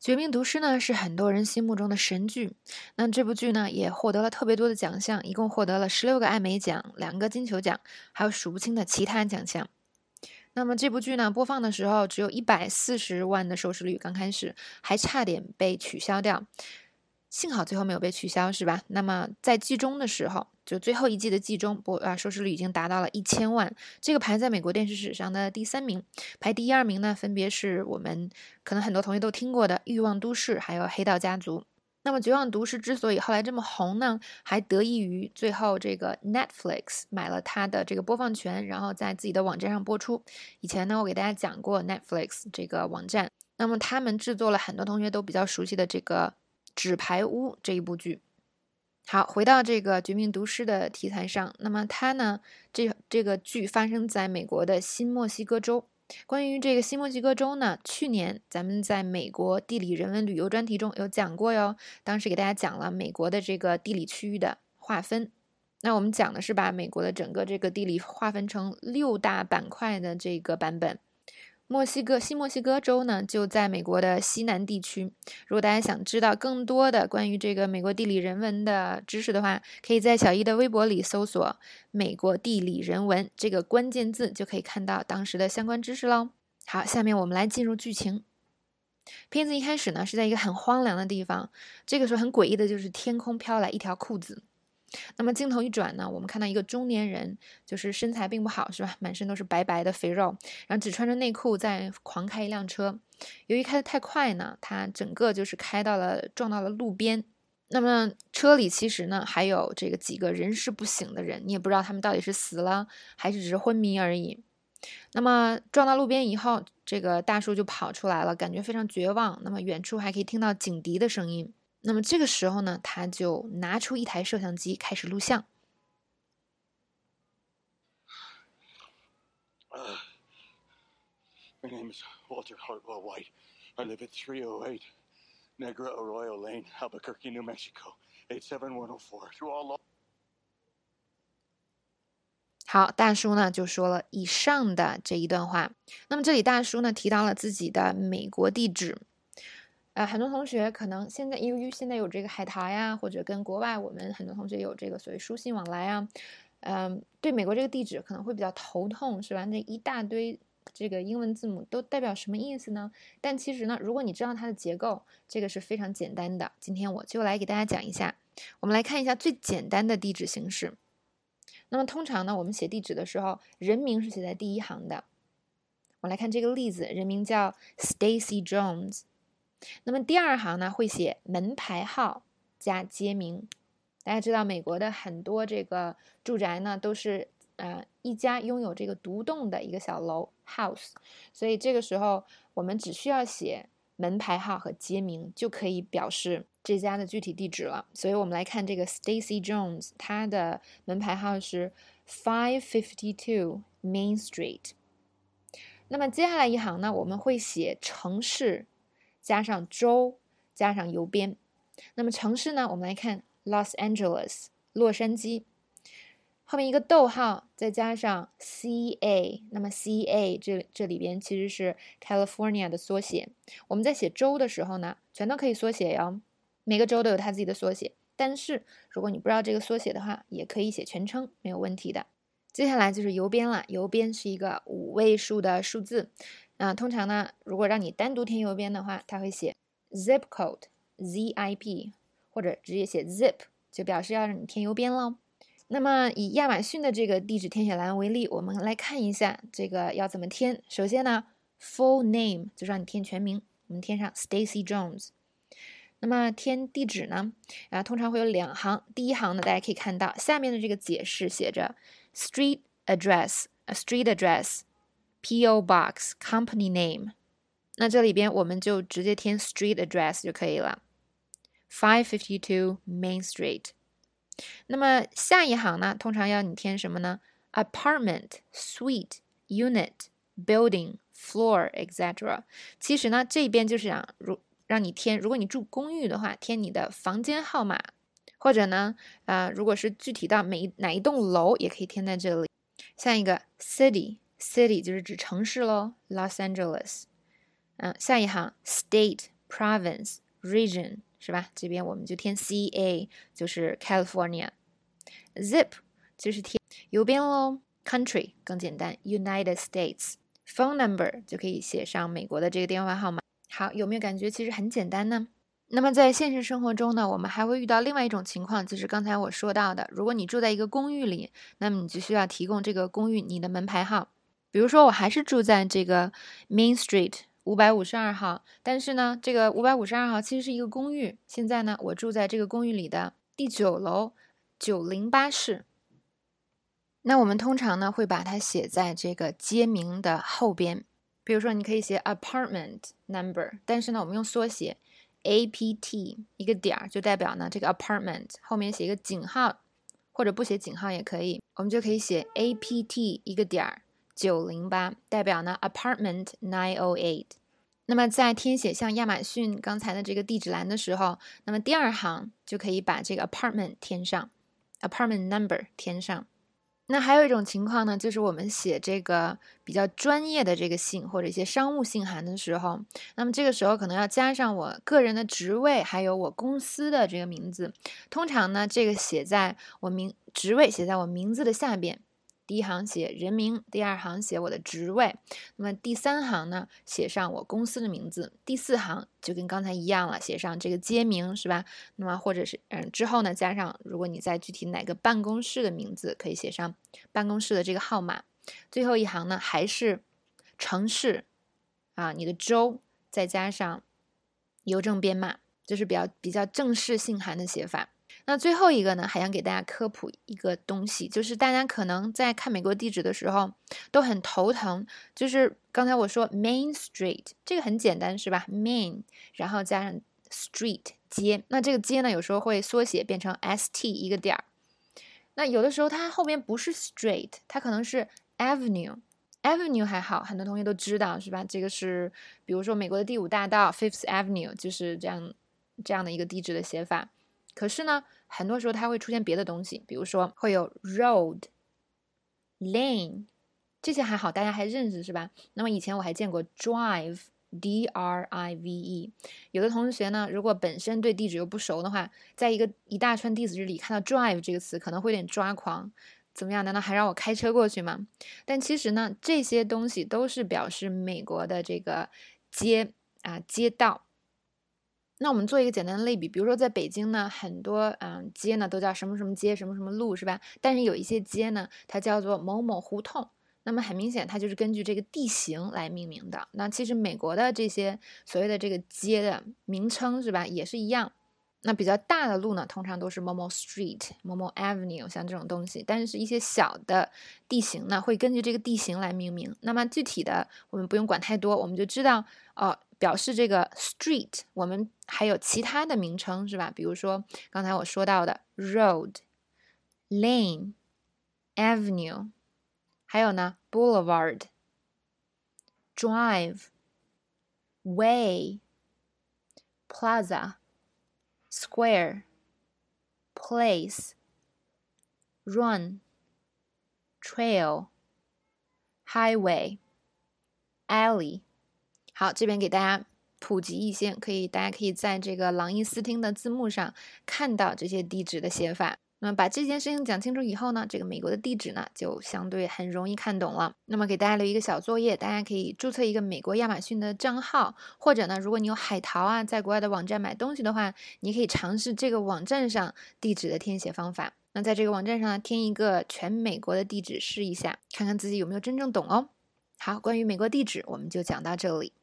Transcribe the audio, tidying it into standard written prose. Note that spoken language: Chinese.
绝命毒师呢是很多人心目中的神剧，那这部剧呢也获得了特别多的奖项，一共获得了16个艾美奖、2个金球奖，还有数不清的其他奖项。那么这部剧呢播放的时候只有140万的收视率，刚开始还差点被取消掉，幸好最后没有被取消，是吧？那么在季中的时候，就最后一季的季中收视率已经达到了1000万，这个排在美国电视史上的第3名，排第2名呢分别是我们可能很多同学都听过的《欲望都市》还有《黑道家族》。那么《绝望毒师》之所以后来这么红呢，还得益于最后这个 Netflix 买了它的这个播放权，然后在自己的网站上播出。以前呢我给大家讲过 Netflix 这个网站，那么他们制作了很多同学都比较熟悉的这个纸牌屋这一部剧。好，回到这个绝命毒师的题材上，那么它呢这个剧发生在美国的新墨西哥州。关于这个新墨西哥州呢，去年咱们在美国地理人文旅游专题中有讲过哟，当时给大家讲了美国的这个地理区域的划分。那我们讲的是把美国的整个这个地理划分成6大板块的这个版本。新墨西哥州呢就在美国的西南地区。如果大家想知道更多的关于这个美国地理人文的知识的话，可以在小一的微博里搜索美国地理人文这个关键字，就可以看到当时的相关知识咯。好，下面我们来进入剧情。片子一开始呢是在一个很荒凉的地方，这个时候很诡异的就是天空飘来一条裤子。那么镜头一转呢，我们看到一个中年人，就是身材并不好，是吧？满身都是白白的肥肉，然后只穿着内裤在狂开一辆车。由于开得太快呢，他整个就是撞到了路边。那么车里其实呢还有这个几个人事不省的人，你也不知道他们到底是死了还是只是昏迷而已。那么撞到路边以后，这个大叔就跑出来了，感觉非常绝望。那么远处还可以听到警笛的声音。那么这个时候呢，他就拿出一台摄像机开始录像。 My name is Walter Hartwell White. I live at 308 Negra Arroyo Lane, Albuquerque, New Mexico, 87104. Through all. 好，大叔呢就说了以上的这一段话。那么这里大叔呢提到了自己的美国地址。很多同学可能由于现在有这个海淘呀，或者跟国外我们很多同学有这个所谓书信往来啊，对美国这个地址可能会比较头痛，是吧？那一大堆这个英文字母都代表什么意思呢？但其实呢，如果你知道它的结构，这个是非常简单的。今天我就来给大家讲一下。我们来看一下最简单的地址形式。那么通常呢，我们写地址的时候，人名是写在第一行的。我来看这个例子，人名叫 Stacy Jones。那么第2行呢会写门牌号加街名。大家知道美国的很多这个住宅呢都是一家拥有这个独栋的一个小楼 house， 所以这个时候我们只需要写门牌号和街名就可以表示这家的具体地址了。所以我们来看这个 Stacy Jones， 他的门牌号是552 Main Street。 那么接下来一行呢，我们会写城市加上州加上邮编。那么城市呢，我们来看 Los Angeles 洛杉矶，后面一个逗号再加上 CA， 那么 CA 这里边其实是 California 的缩写。我们在写州的时候呢，全都可以缩写哟，每个州都有它自己的缩写。但是如果你不知道这个缩写的话，也可以写全称，没有问题的。接下来就是邮编了，邮编是一个5位数的数字。通常呢，如果让你单独填邮编的话，它会写 zip code ZIP， 或者直接写 zip， 就表示要让你填邮编咯。那么以亚马逊的这个地址填写栏为例，我们来看一下这个要怎么填。首先呢 full name 就让你填全名，我们填上 Stacy Jones。那么填地址呢通常会有2行。第一行呢，大家可以看到下面的这个解释写着 street address PO Box Company Name， 那这里边我们就直接填 Street Address 就可以了， 552 Main Street。 那么下一行呢，通常要你填什么呢？ Apartment Suite Unit Building Floor etc。 其实呢这边就是让你填，如果你住公寓的话，填你的房间号码，或者呢如果是具体到哪一栋楼也可以填在这里。下一个 City 就是指城市咯， Los Angeles。下一行 State province region 是吧？这边我们就填 CA 就是 California。 zip 就是填邮编咯。 country 更简单 United States。 phone number 就可以写上美国的这个电话号码。好，有没有感觉其实很简单呢？那么在现实生活中呢，我们还会遇到另外一种情况，就是刚才我说到的，如果你住在一个公寓里，那么你就需要提供这个公寓你的门牌号。比如说我还是住在这个 Main Street 552号，但是呢这个552号其实是一个公寓，现在呢我住在这个公寓里的第9楼908室。那我们通常呢会把它写在这个街名的后边，比如说你可以写 apartment number， 但是呢我们用缩写 APT 一个点就代表呢这个 apartment 后面写一个井号，或者不写井号也可以，我们就可以写 APT 一个点908，代表呢 apartment 908。那么在填写像亚马逊刚才的这个地址栏的时候，那么第2行就可以把这个 apartment 填上， apartment number 填上。那还有一种情况呢，就是我们写这个比较专业的这个信或者一些商务信函的时候，那么这个时候可能要加上我个人的职位，还有我公司的这个名字。通常呢，这个写在我职位写在我名字的下边，第1行写人名，第2行写我的职位，那么第3行呢写上我公司的名字，第4行就跟刚才一样了，写上这个街名是吧？那么或者是之后呢加上如果你在具体哪个办公室的名字，可以写上办公室的这个号码。最后一行呢还是城市你的州，再加上邮政编码，就是比较正式信函的写法。那最后一个呢，还想给大家科普一个东西，就是大家可能在看美国地址的时候都很头疼，就是刚才我说 Main Street 这个很简单是吧？ Main 然后加上 Street 街，那这个街呢有时候会缩写变成 ST 一个点。那有的时候它后面不是 Street， 它可能是 Avenue 还好，很多同学都知道是吧？这个是比如说美国的第5大道 Fifth Avenue 就是这样的一个地址的写法。可是呢很多时候它会出现别的东西，比如说会有 road lane， 这些还好大家还认识是吧？那么以前我还见过 drive DRIVE， 有的同学呢如果本身对地址又不熟的话，在一大串地址里看到 drive 这个词可能会有点抓狂，怎么样，难道还让我开车过去吗？但其实呢这些东西都是表示美国的这个街道。那我们做一个简单的类比，比如说在北京呢很多街呢都叫什么什么街什么什么路是吧？但是有一些街呢它叫做某某胡同，那么很明显它就是根据这个地形来命名的。那其实美国的这些所谓的这个街的名称是吧也是一样。那比较大的路呢通常都是某某 street 某某 avenue 像这种东西，但是一些小的地形呢会根据这个地形来命名。那么具体的我们不用管太多，我们就知道表示这个 street 我们还有其他的名称是吧？比如说刚才我说到的 road lane avenue， 还有呢 boulevard drive way plaza square place run trail highway alley。好，这边给大家普及一些，大家可以在这个朗逸思听的字幕上看到这些地址的写法。那么把这件事情讲清楚以后呢，这个美国的地址呢就相对很容易看懂了。那么给大家留一个小作业，大家可以注册一个美国亚马逊的账号，或者呢如果你有海淘在国外的网站买东西的话，你可以尝试这个网站上地址的填写方法。那在这个网站上填一个全美国的地址试一下，看看自己有没有真正懂哦。好，关于美国地址我们就讲到这里。